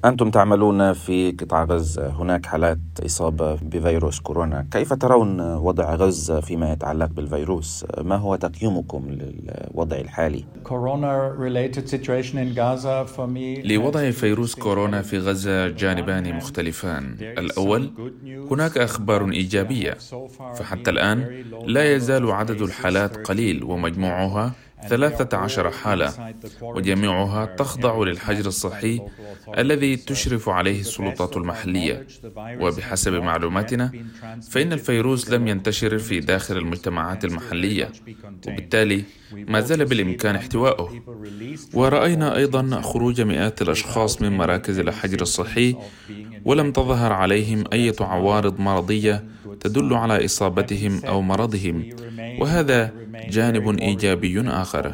أنتم تعملون في قطاع غزة، هناك حالات إصابة بفيروس كورونا، كيف ترون وضع غزة فيما يتعلق بالفيروس؟ ما هو تقييمكم للوضع الحالي؟ لوضع فيروس كورونا في غزة جانبان مختلفان. الأول، هناك أخبار إيجابية، فحتى الآن لا يزال عدد الحالات قليل ومجموعها 13 حالة، وجميعها تخضع للحجر الصحي الذي تشرف عليه السلطات المحلية. وبحسب معلوماتنا فإن الفيروس لم ينتشر في داخل المجتمعات المحلية، وبالتالي ما زال بالإمكان احتوائه. ورأينا أيضا خروج مئات الأشخاص من مراكز الحجر الصحي ولم تظهر عليهم أي عوارض مرضية تدل على إصابتهم أو مرضهم، وهذا جانب إيجابي آخر.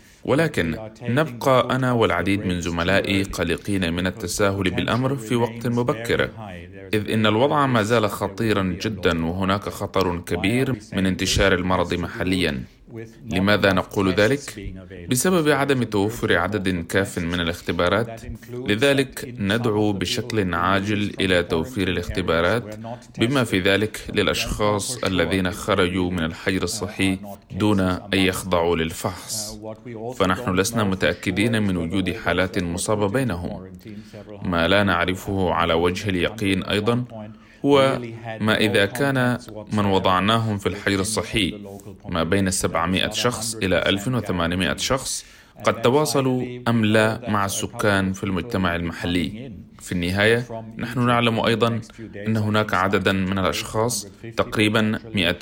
ولكن نبقى أنا والعديد من زملائي قلقين من التساهل بالأمر في وقت مبكر، إذ إن الوضع ما زال خطيرا جدا، وهناك خطر كبير من انتشار المرض محليا. لماذا نقول ذلك؟ بسبب عدم توفر عدد كاف من الاختبارات. لذلك ندعو بشكل عاجل إلى توفير الاختبارات، بما في ذلك للأشخاص الذين خرجوا من الحجر الصحي دون أن يخضعوا للفحص، فنحن لسنا متأكدين من وجود حالات مصابة بينهم. ما لا نعرفه على وجه اليقين أيضا هو ما إذا كان من وضعناهم في الحجر الصحي ما بين 700 شخص إلى 1800 شخص قد تواصلوا أم لا مع السكان في المجتمع المحلي. في النهاية نحن نعلم أيضا أن هناك عددا من الأشخاص، تقريبا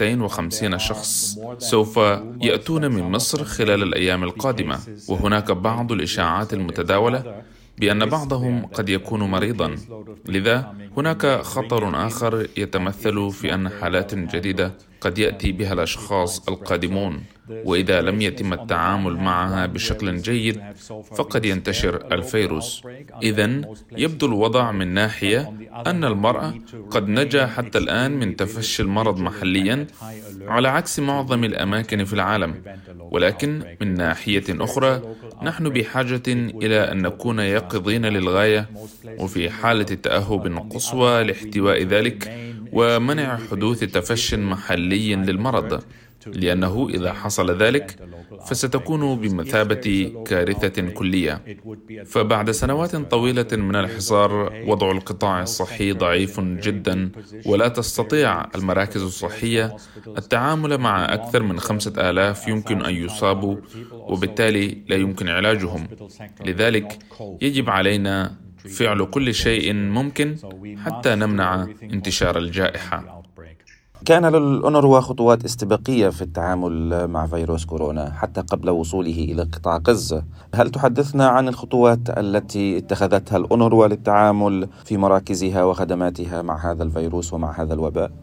250 شخص، سوف يأتون من مصر خلال الأيام القادمة، وهناك بعض الإشاعات المتداولة بأن بعضهم قد يكون مريضا. لذا هناك خطر آخر يتمثل في أن حالات جديدة قد يأتي بها الأشخاص القادمون، وإذا لم يتم التعامل معها بشكل جيد فقد ينتشر الفيروس. إذن يبدو الوضع من ناحية أن المرأة قد نجا حتى الآن من تفشي المرض محليا على عكس معظم الأماكن في العالم، ولكن من ناحية أخرى نحن بحاجة إلى أن نكون يقظين للغاية، وفي حالة تأهب قصوى لاحتواء ذلك ومنع حدوث تفشي محلي للمرض، لأنه إذا حصل ذلك فستكون بمثابة كارثة كلية. فبعد سنوات طويلة من الحصار، وضع القطاع الصحي ضعيف جدا، ولا تستطيع المراكز الصحية التعامل مع أكثر من 5000 يمكن أن يصابوا، وبالتالي لا يمكن علاجهم. لذلك يجب علينا فعل كل شيء ممكن حتى نمنع انتشار الجائحة. كان للأونروا خطوات استباقية في التعامل مع فيروس كورونا حتى قبل وصوله إلى قطاع غزة. هل تحدثنا عن الخطوات التي اتخذتها الأونروا للتعامل في مراكزها وخدماتها مع هذا الفيروس ومع هذا الوباء؟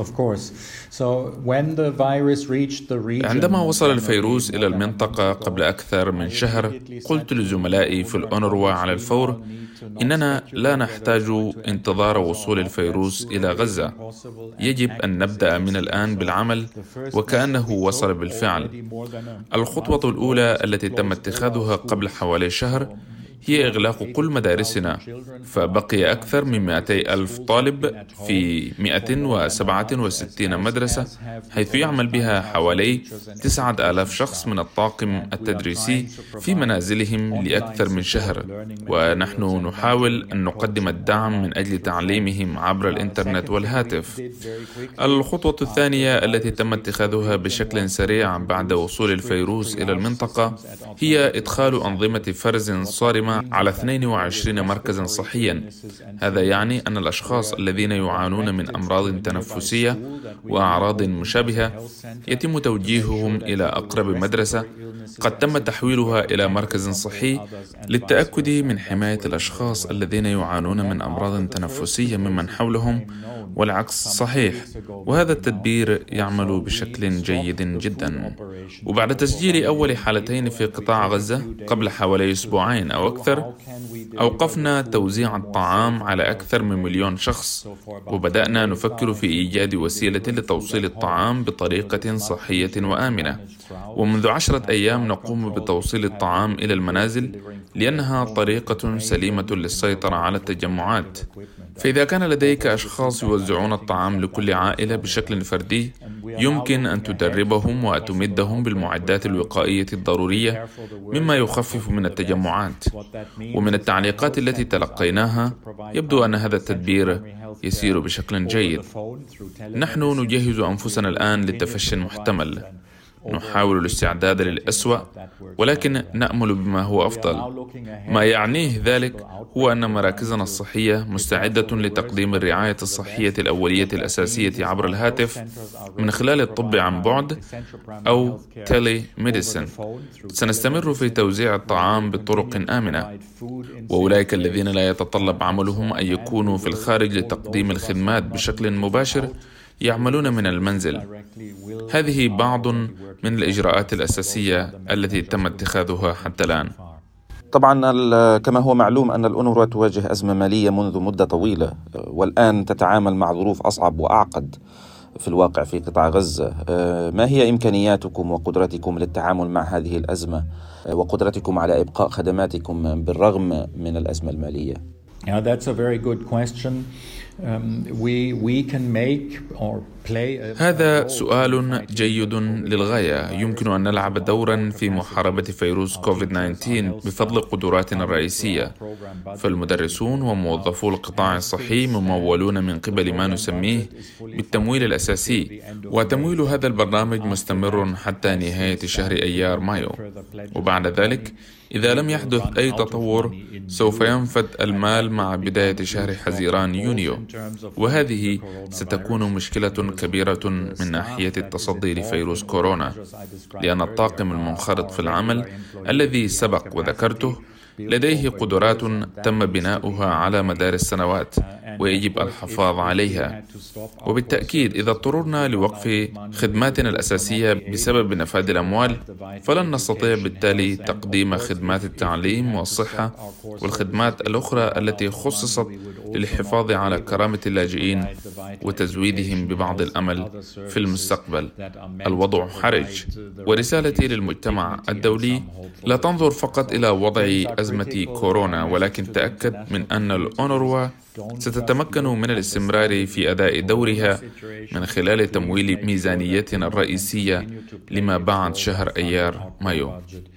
عندما وصل الفيروس إلى المنطقة قبل أكثر من شهر، قلت لزملائي في الأونروا على الفور إننا لا نحتاج انتظار وصول الفيروس إلى غزة، يجب أن نبدأ من الآن بالعمل وكأنه وصل بالفعل. الخطوة الأولى التي تم اتخاذها قبل حوالي شهر هي إغلاق كل مدارسنا، فبقي أكثر من 200,000 طالب في 167 مدرسة، حيث يعمل بها حوالي 9,000 شخص من الطاقم التدريسي في منازلهم لأكثر من شهر، ونحن نحاول أن نقدم الدعم من أجل تعليمهم عبر الإنترنت والهاتف. الخطوة الثانية التي تم اتخاذها بشكل سريع بعد وصول الفيروس إلى المنطقة هي إدخال أنظمة فرز صارمة على 22 مركزا صحيا. هذا يعني أن الأشخاص الذين يعانون من أمراض تنفسية وأعراض مشابهة يتم توجيههم إلى أقرب مدرسة قد تم تحويلها إلى مركز صحي للتأكد من حماية الأشخاص الذين يعانون من أمراض تنفسية ممن حولهم، والعكس صحيح. وهذا التدبير يعمل بشكل جيد جدا. وبعد تسجيل أول حالتين في قطاع غزة قبل حوالي أسبوعين أو أكثر، أوقفنا توزيع الطعام على أكثر من 1,000,000 شخص، وبدأنا نفكر في إيجاد وسيلة لتوصيل الطعام بطريقة صحية وآمنة. ومنذ 10 أيام نقوم بتوصيل الطعام إلى المنازل لأنها طريقة سليمة للسيطرة على التجمعات. فإذا كان لديك أشخاص يوزعون الطعام لكل عائلة بشكل فردي، يمكن أن تدربهم وتمدهم بالمعدات الوقائية الضرورية مما يخفف من التجمعات. ومن التعليقات التي تلقيناها يبدو أن هذا التدبير يسير بشكل جيد. نحن نجهز أنفسنا الآن للتفشي المحتمل، نحاول الاستعداد للأسوأ ولكن نأمل بما هو أفضل. ما يعنيه ذلك هو أن مراكزنا الصحية مستعدة لتقديم الرعاية الصحية الأولية الأساسية عبر الهاتف من خلال الطب عن بعد أو تيلي ميديسين. سنستمر في توزيع الطعام بطرق آمنة، وأولئك الذين لا يتطلب عملهم أن يكونوا في الخارج لتقديم الخدمات بشكل مباشر يعملون من المنزل. هذه بعض من الإجراءات الأساسية التي تم اتخاذها حتى الآن. طبعا كما هو معلوم أن الأونروا تواجه أزمة مالية منذ مدة طويلة، والآن تتعامل مع ظروف أصعب وأعقد في الواقع في قطاع غزة. ما هي إمكانياتكم وقدرتكم للتعامل مع هذه الأزمة وقدرتكم على إبقاء خدماتكم بالرغم من الأزمة المالية؟ Yeah, that's a very good question. We can make or هذا سؤال جيد للغاية. يمكن أن نلعب دورا في محاربة فيروس كوفيد-19 بفضل قدراتنا الرئيسية. فالمدرسون وموظفو القطاع الصحي ممولون من قبل ما نسميه بالتمويل الأساسي، وتمويل هذا البرنامج مستمر حتى نهاية شهر أيار مايو. وبعد ذلك إذا لم يحدث أي تطور سوف ينفد المال مع بداية شهر حزيران يونيو، وهذه ستكون مشكلة كبيرة من ناحية التصدي لفيروس كورونا، لأن الطاقم المنخرط في العمل الذي سبق وذكرته لديه قدرات تم بناؤها على مدار السنوات ويجب الحفاظ عليها. وبالتأكيد إذا اضطررنا لوقف خدماتنا الأساسية بسبب نفاذ الأموال فلن نستطيع بالتالي تقديم خدمات التعليم والصحة والخدمات الأخرى التي خصصت للحفاظ على كرامة اللاجئين وتزويدهم ببعض الأمل في المستقبل. الوضع حرج، ورسالتي للمجتمع الدولي لا تنظر فقط إلى وضع أزمة كورونا، ولكن تأكد من أن الأونروا ستتمكن من الاستمرار في أداء دورها من خلال تمويل ميزانيتنا الرئيسية لما بعد شهر أيار مايو.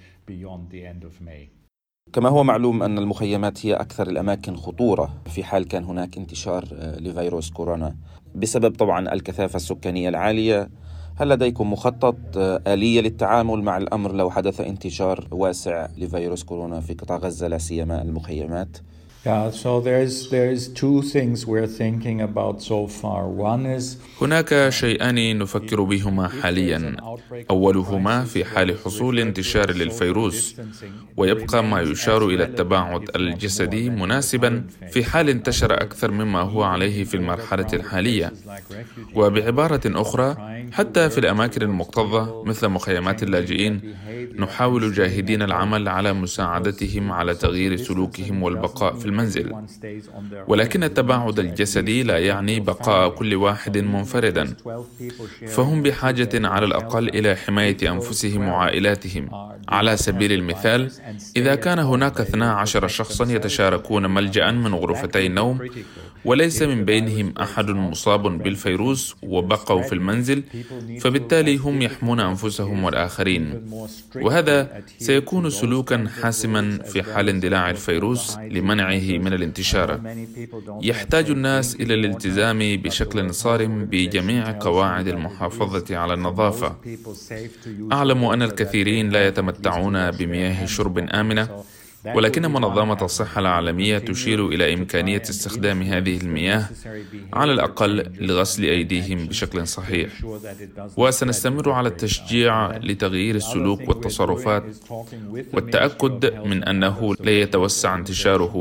كما هو معلوم أن المخيمات هي أكثر الأماكن خطورة في حال كان هناك انتشار لفيروس كورونا بسبب طبعا الكثافة السكانية العالية. هل لديكم مخطط آلية للتعامل مع الأمر لو حدث انتشار واسع لفيروس كورونا في قطاع غزة لا سيما المخيمات؟ So there's two things we're thinking about so far. One is هناك شيئان نفكر بهما حاليا. أولهما في حال حصول انتشار للفيروس، ويبقى ما يشار إلى التباعد الجسدي مناسبا في حال انتشر أكثر مما هو عليه في المرحلة الحالية. وبعبارة أخرى، حتى في الأماكن المكتظة مثل مخيمات اللاجئين نحاول جاهدين العمل على مساعدتهم على تغيير سلوكهم والبقاء في المنزل. ولكن التباعد الجسدي لا يعني بقاء كل واحد منفردا، فهم بحاجة على الأقل إلى حماية أنفسهم وعائلاتهم. على سبيل المثال، إذا كان هناك 12 شخصا يتشاركون ملجأ من غرفتي النوم وليس من بينهم أحد مصاب بالفيروس وبقوا في المنزل، فبالتالي هم يحمون أنفسهم والآخرين، وهذا سيكون سلوكا حاسما في حال اندلاع الفيروس لمنعه من الانتشار. يحتاج الناس إلى الالتزام بشكل صارم بجميع قواعد المحافظة على النظافة. أعلم أن الكثيرين لا يتمتعون بمياه شرب آمنة، ولكن منظمة الصحة العالمية تشير إلى إمكانية استخدام هذه المياه على الأقل لغسل أيديهم بشكل صحيح. وسنستمر على التشجيع لتغيير السلوك والتصرفات والتأكد من أنه لا يتوسع انتشاره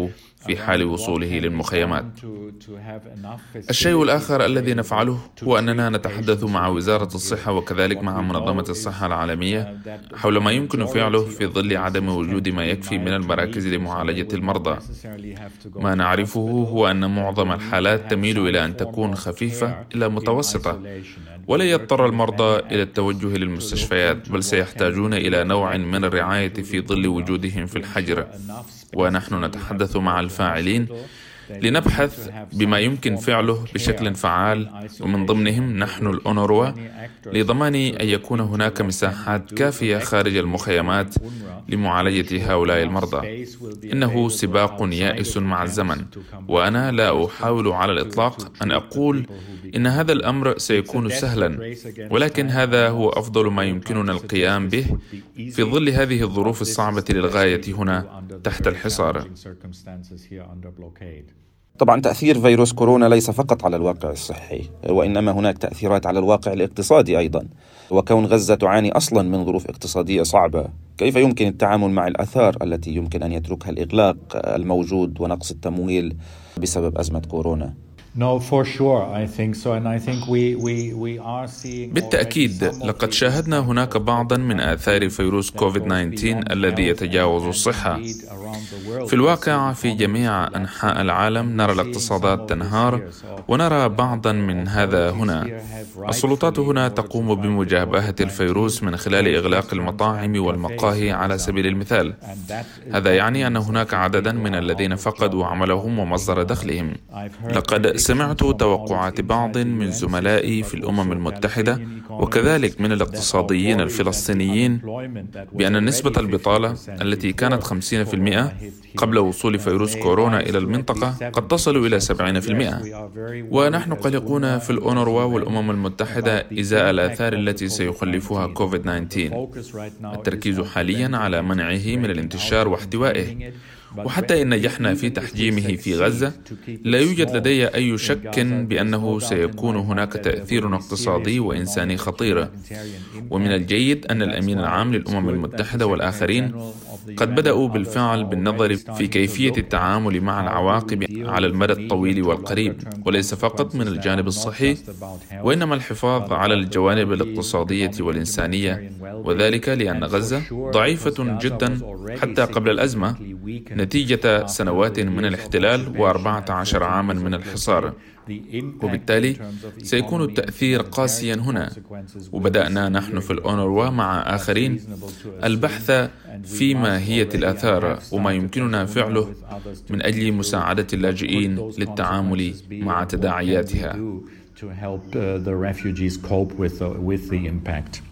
في حال وصوله للمخيمات. الشيء الآخر الذي نفعله هو أننا نتحدث مع وزارة الصحة وكذلك مع منظمة الصحة العالمية حول ما يمكن فعله في ظل عدم وجود ما يكفي من المراكز لمعالجة المرضى. ما نعرفه هو أن معظم الحالات تميل إلى أن تكون خفيفة إلى متوسطة، ولا يضطر المرضى إلى التوجه للمستشفيات، بل سيحتاجون إلى نوع من الرعاية في ظل وجودهم في الحجر. ونحن نتحدث مع الفاعلين لنبحث بما يمكن فعله بشكل فعال، ومن ضمنهم نحن الأونروا، لضمان أن يكون هناك مساحات كافية خارج المخيمات لمعالجة هؤلاء المرضى. إنه سباق يائس مع الزمن، وأنا لا أحاول على الإطلاق أن أقول إن هذا الأمر سيكون سهلا، ولكن هذا هو أفضل ما يمكننا القيام به في ظل هذه الظروف الصعبة للغاية هنا تحت الحصار. طبعا تأثير فيروس كورونا ليس فقط على الواقع الصحي، وإنما هناك تأثيرات على الواقع الاقتصادي أيضا. وكون غزة تعاني أصلا من ظروف اقتصادية صعبة، كيف يمكن التعامل مع الآثار التي يمكن أن يتركها الإغلاق الموجود ونقص التمويل بسبب أزمة كورونا؟ بالتأكيد لقد شاهدنا هناك بعضا من آثار فيروس كوفيد-19 الذي يتجاوز الصحة. في الواقع في جميع أنحاء العالم نرى الاقتصادات تنهار، ونرى بعضا من هذا هنا. السلطات هنا تقوم بمجابهة الفيروس من خلال إغلاق المطاعم والمقاهي على سبيل المثال. هذا يعني أن هناك عددا من الذين فقدوا عملهم ومصدر دخلهم. لقد سمعت توقعات بعض من زملائي في الأمم المتحدة وكذلك من الاقتصاديين الفلسطينيين بأن نسبة البطالة التي كانت 50% قبل وصول فيروس كورونا إلى المنطقة قد تصل إلى 70%. ونحن قلقون في الأونروا والأمم المتحدة إزاء الآثار التي سيخلفها كوفيد-19. التركيز حاليا على منعه من الانتشار واحتوائه، وحتى إن نجحنا في تحجيمه في غزة لا يوجد لدي أي شك بأنه سيكون هناك تأثير اقتصادي وإنساني خطير. ومن الجيد أن الأمين العام للأمم المتحدة والآخرين قد بدأوا بالفعل بالنظر في كيفية التعامل مع العواقب على المدى الطويل والقريب، وليس فقط من الجانب الصحي، وإنما الحفاظ على الجوانب الاقتصادية والإنسانية، وذلك لأن غزة ضعيفة جدا حتى قبل الأزمة نتيجة سنوات من الاحتلال و14 عاما من الحصار. وبالتالي سيكون التأثير قاسيا هنا. وبدأنا نحن في الأونروا مع آخرين البحث في ماهية الآثار وما يمكننا فعله من أجل مساعدة اللاجئين للتعامل مع تداعياتها.